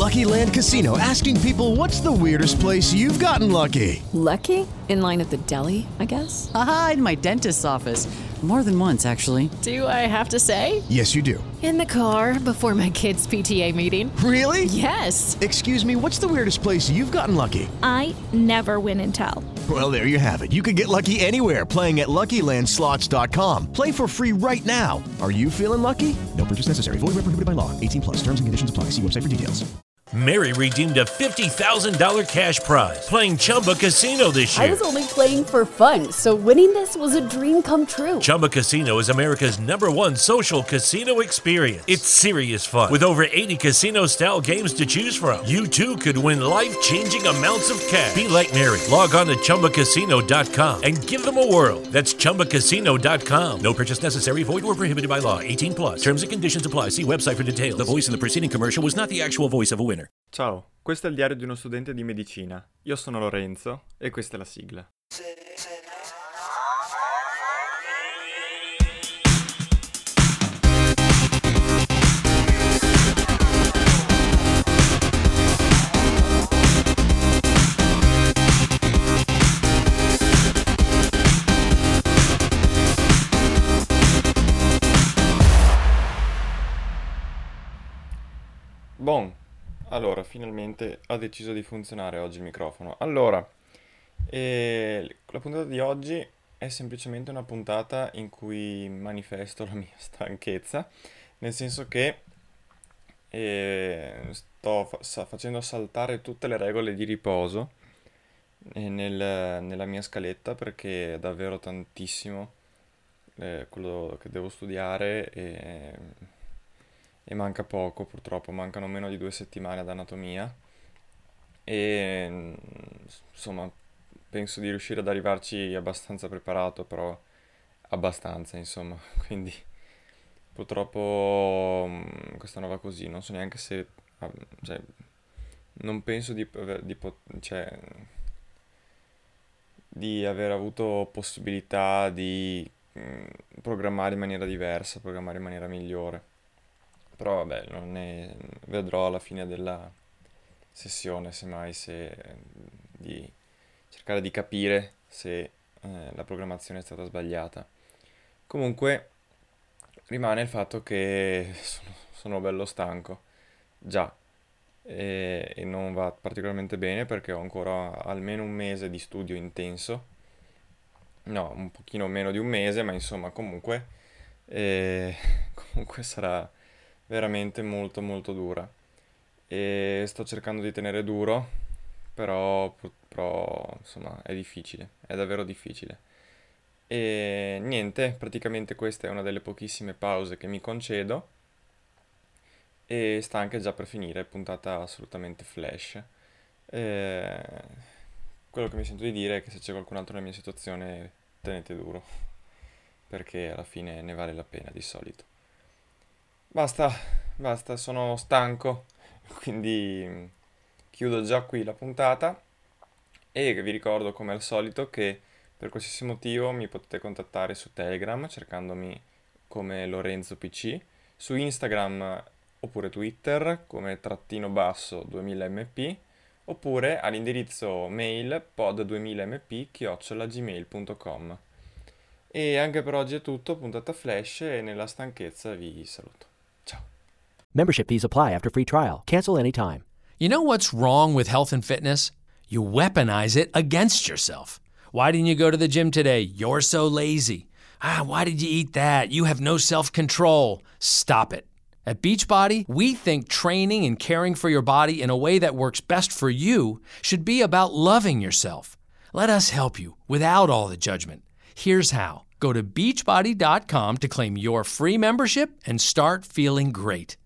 Lucky Land Casino, asking people, what's the weirdest place you've gotten lucky? Lucky? In line at the deli, I guess? Aha, in my dentist's office. More than once, actually. Do I have to say? Yes, you do. In the car before my kids' PTA meeting. Really? Yes. Excuse me, what's the weirdest place you've gotten lucky? I never win and tell. Well, there you have it. You can get lucky anywhere, playing at LuckyLandSlots.com. Play for free right now. Are you feeling lucky? No purchase necessary. Void where prohibited by law. 18+. Terms and conditions apply. See website for details. Mary redeemed a $50,000 cash prize playing Chumba Casino this year. I was only playing for fun, so winning this was a dream come true. Chumba Casino is America's #1 social casino experience. It's serious fun. With over 80 casino-style games to choose from, you too could win life-changing amounts of cash. Be like Mary. Log on to ChumbaCasino.com and give them a whirl. That's ChumbaCasino.com. No purchase necessary. Void where prohibited by law. 18+. Terms and conditions apply. See website for details. The voice in the preceding commercial was not the actual voice of a winner. Ciao, questo è il diario di uno studente di medicina. Io sono Lorenzo e questa è la sigla. Bon. Allora, finalmente ha deciso di funzionare oggi il microfono. Allora, la puntata di oggi è semplicemente una puntata in cui manifesto la mia stanchezza, nel senso che sto facendo saltare tutte le regole di riposo nella mia scaletta, perché è davvero tantissimo quello che devo studiare e manca poco, purtroppo, mancano meno di 2 settimane ad anatomia e insomma penso di riuscire ad arrivarci abbastanza preparato, però abbastanza, insomma, quindi purtroppo quest'anno va così, non so neanche se, cioè, non penso di aver avuto possibilità di programmare in maniera diversa, programmare in maniera migliore. Però vabbè, vedrò alla fine della sessione, semmai, di cercare di capire se la programmazione è stata sbagliata. Comunque rimane il fatto che sono bello stanco, già, e non va particolarmente bene perché ho ancora almeno un mese di studio intenso. No, un pochino meno di un mese, ma insomma comunque sarà veramente molto molto dura e sto cercando di tenere duro, però insomma è difficile, è davvero difficile. E niente, praticamente questa è una delle pochissime pause che mi concedo e sta anche già per finire, puntata assolutamente flash. Quello che mi sento di dire è che se c'è qualcun altro nella mia situazione, tenete duro, perché alla fine ne vale la pena di solito. Basta, sono stanco, quindi chiudo già qui la puntata e vi ricordo come al solito che per qualsiasi motivo mi potete contattare su Telegram cercandomi come Lorenzo PC, su Instagram oppure Twitter come _2000mp, oppure all'indirizzo mail pod2000mp@gmail.com. E anche per oggi è tutto, puntata flash, e nella stanchezza vi saluto. Membership fees apply after free trial. Cancel anytime. You know what's wrong with health and fitness? You weaponize it against yourself. Why didn't you go to the gym today? You're so lazy. Why did you eat that? You have no self-control. Stop it. At Beachbody, we think training and caring for your body in a way that works best for you should be about loving yourself. Let us help you without all the judgment. Here's how. Go to beachbody.com to claim your free membership and start feeling great.